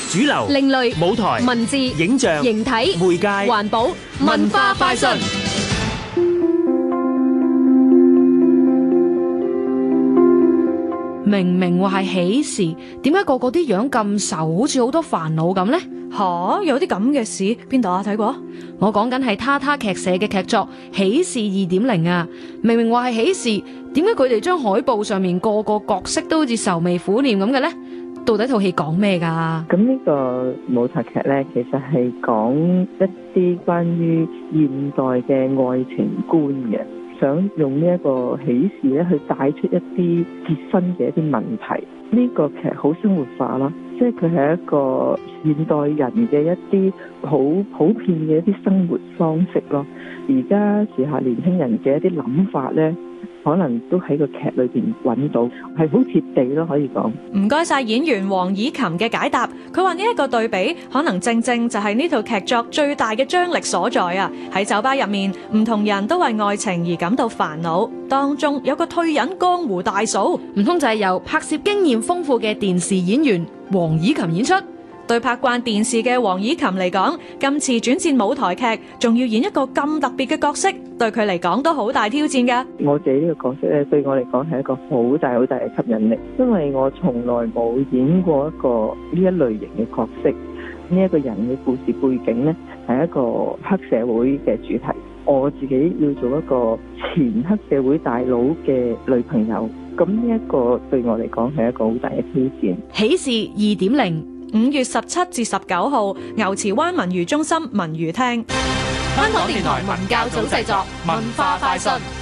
主流、 另類舞台、 文字、 影像、 形體、 媒介、 環保、文化快訊。 明明話係喜事，點解個個啲樣咁愁，好似好多煩惱咁呢？ 吓，有啲咁嘅事邊度啊？睇過？ 我講緊係他他劇社嘅劇作《喜事2.0》啊！明明話係喜事，點解佢哋將海報上面個個角色都好似愁眉苦臉咁嘅呢？到底套戲講咩噶？ 咁呢個舞台劇呢，其實係講一啲關於現代嘅愛情觀嘅，想用呢一個喜事咧去帶出一啲結婚嘅一啲問題。呢個劇好生活化啦，即係佢係一個現代人嘅一啲好普遍嘅一啲生活方式咯。而家時下年輕人嘅一啲諗法呢，可能都喺個劇裏邊揾到，係好貼地咯，可以講。 唔該晒演員黃以琴嘅解答。佢話呢一個對比，可能正正就係呢套劇作最大嘅張力所在啊！喺酒吧入面，唔同人都為愛情而感到煩惱，當中有個退隱江湖大嫂， 唔通就係由拍攝經驗豐富嘅電視演員黃以琴演出？ 對拍慣電視嘅黃以琴嚟講，今次轉戰舞台劇，仲要演一個咁特別嘅角色，對佢嚟講都好大挑戰㗎。 我自己呢個角色咧，對我嚟講係一個好大好大嘅吸引力，因為我從來冇演過一個呢一類型嘅角色。呢一個人嘅故事背景呢，係一個黑社會嘅主題。我自己要做一個前黑社會大佬嘅女朋友，咁呢一個對我嚟講係一個好大嘅挑戰。 喜事2.0。 5月17至19號，牛池灣文娛中心文娛廳。 香港電台文教組製作，文化快訊。